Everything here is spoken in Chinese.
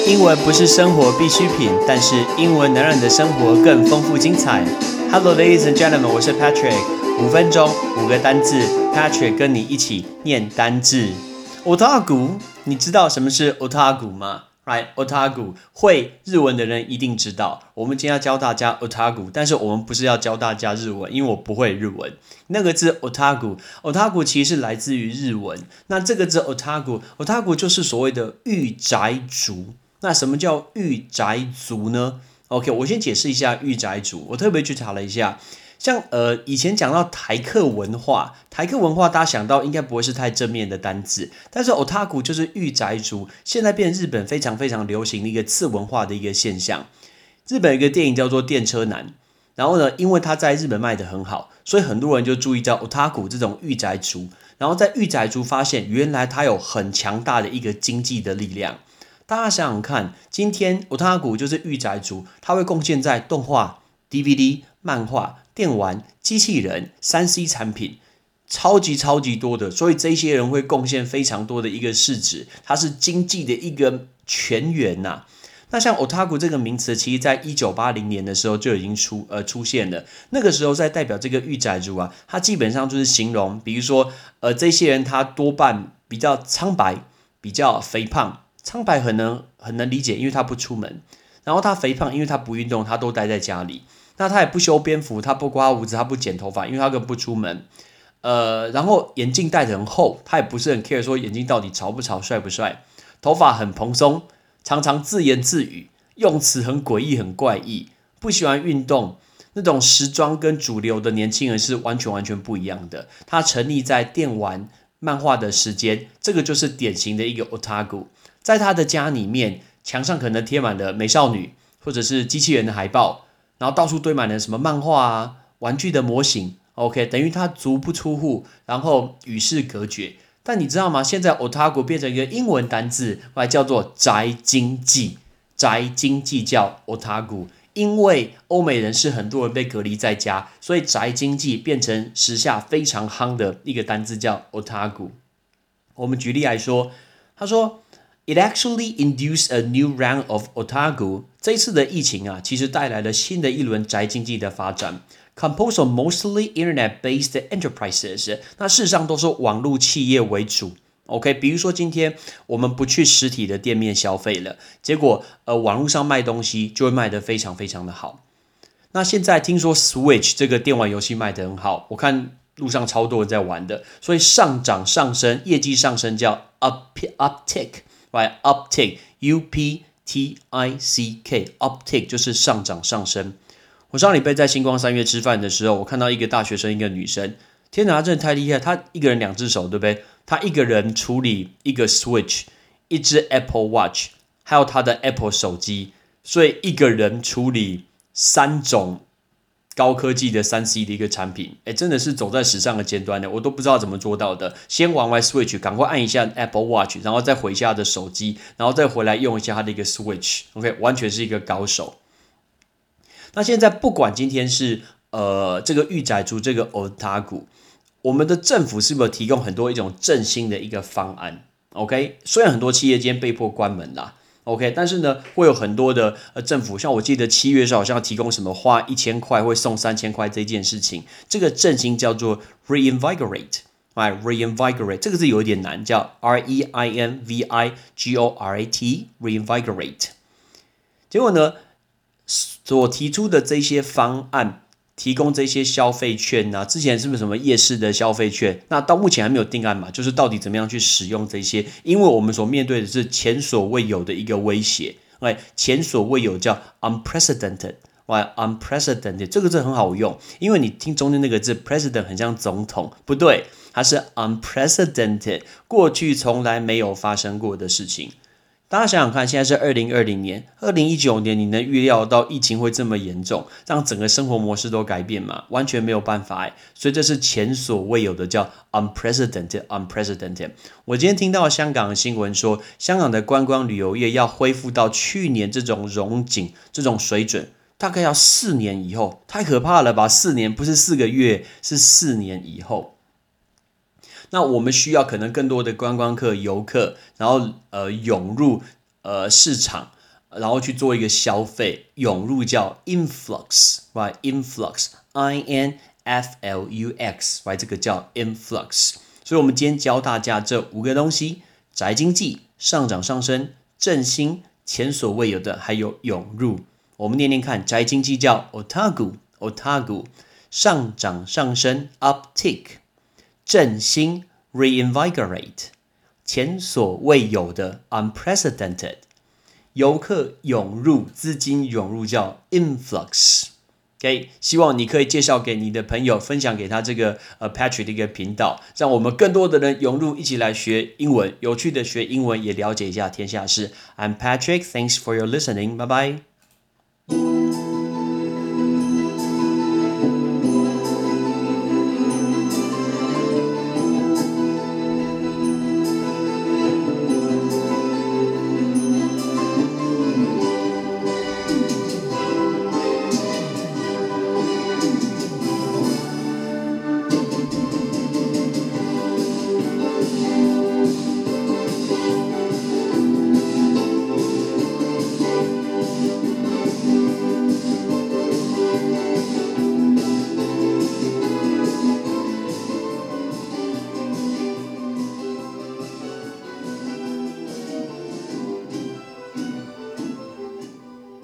英文不是生活必需品，但是英文能让你的生活更丰富精彩。Hello, ladies and gentlemen， 我是 Patrick。5分钟5个单字 ，Patrick 跟你一起念单字。Otaku， 你知道什么是 Otaku 吗？Right, Otaku 会日文的人一定知道。我们今天要教大家 Otaku， 但是我们不是要教大家日文，因为我不会日文。那个字 Otaku 其实是来自于日文。那这个字 Otaku 就是所谓的御宅族。那什么叫御宅族呢 ？OK， 我先解释一下御宅族。我特别去查了一下。像以前讲到台客文化大家想到应该不会是太正面的单字，但是 Otaku 就是御宅族，现在变成日本非常非常流行的一个次文化的一个现象。日本有一个电影叫做《电车男》，然后呢，因为他在日本卖得很好，所以很多人就注意到 Otaku 这种御宅族，然后在御宅族发现原来他有很强大的一个经济的力量。大家想想看，今天 Otaku 就是御宅族，他会贡献在动画、DVD、漫画、电玩、机器人、3C 产品，超级多的，所以这些人会贡献非常多的一个市值，它是经济的一个泉源呐。那像 Otaku 这个名词，其实在1980年的时候就已经出现了。那个时候在代表这个御宅族啊，它基本上就是形容，比如说这些人他多半比较苍白，比较肥胖。苍白很能理解，因为他不出门。然后他肥胖，因为他不运动，他都待在家里。那他也不修边幅，他不刮胡子，他不剪头发，因为他根本不出门。然后眼镜戴得很厚，他也不是很 care 说眼镜到底潮不潮、帅不帅。头发很蓬松，常常自言自语，用词很诡异、很怪异，不喜欢运动。那种时装跟主流的年轻人是完全不一样的。他沉溺在电玩、漫画的时间，这个就是典型的一个 Otaku。在他的家里面，墙上可能贴满了美少女或者是机器人的海报，然后到处堆满了什么漫画啊、玩具的模型。OK， 等于他足不出户，然后与世隔绝。但你知道吗？现在 Otaku 变成一个英文单字，叫做宅经济。宅经济叫 Otaku， 因为欧美人是很多人被隔离在家，所以宅经济变成时下非常夯的一个单字叫 Otaku。我们举例来说，他说It actually induced a new round of otaku. 这一次的疫情啊，其实带来了新的一轮宅经济的发展。Composed of mostly internet-based enterprises. 那事实上都是网络企业为主。OK， 比如说今天我们不去实体的店面消费了，结果网络上卖东西就会卖得非常非常的好。那现在听说 Switch 这个电玩游戏卖得很好，我看路上超多人在玩的，所以上升，业绩上升叫 uptick。Right, uptick, U-P-T-I-C-K, uptick 就是上升。我上礼拜在星光三月吃饭的时候，我看到一个大学生，一个女生，天哪，她真的太厉害！她一个人2只手，对不对？她一个人处理一个 Switch， 一只 Apple Watch， 还有她的 Apple 手机，所以一个人处理3种高科技的3C 的一个产品，真的是走在时尚的尖端的，我都不知道怎么做到的。先玩完 Switch， 赶快按一下 Apple Watch， 然后再回一下他的手机，然后再回来用一下他的一个 Switch。OK， 完全是一个高手。那现在不管今天是这个御宅族这个 Otaku， 我们的政府是不是有提供很多一种振兴的一个方案 ？OK， 虽然很多企业今天被迫关门啦。OK， 但是呢，会有很多的政府，像我记得7月的时候好像提供什么花1000块会送3000块这件事情，这个振兴叫做 reinvigorate，reinvigorate 这个字有一点难，叫 R-E-I-N-V-I-G-O-R-A-T，reinvigorate。结果呢，所提出的这些方案，提供这些消费券啊，之前是不是什么夜市的消费券？那到目前还没有定案嘛，就是到底怎么样去使用这些？因为我们所面对的是前所未有的一个威胁，前所未有叫 unprecedented，unprecedented 这个字很好用，因为你听中间那个字 president 很像总统，不对，它是 unprecedented， 过去从来没有发生过的事情。大家想想看，现在是2020年，2019年你能预料到疫情会这么严重，让整个生活模式都改变吗？完全没有办法所以这是前所未有的，叫 unprecedented。我今天听到香港的新闻说，香港的观光旅游业要恢复到去年这种荣景、这种水准，大概要4年以后，太可怕了吧？4年不是4个月，是4年以后。那我们需要可能更多的观光客、游客，然后涌入市场， 然后去做一个消费，涌入叫 influx，right？ influx，I-N-F-L-U-X，right？ 这个叫 influx。所以我们今天教大家这5个东西：宅经济、上涨上升、振兴、前所未有的，还有涌入。我们念念看，宅经济叫 otago， 上涨上升 uptick， 振兴 reinvigorate， 前所未有的 unprecedented， 游客涌入、资金涌入叫 influx。OK， 希望你可以介绍给你的朋友，分享给他这个Patrick 的一个频道，让我们更多的人涌入，一起来学英文，有趣的学英文，也了解一下天下事。I'm Patrick, thanks for your listening. Bye bye.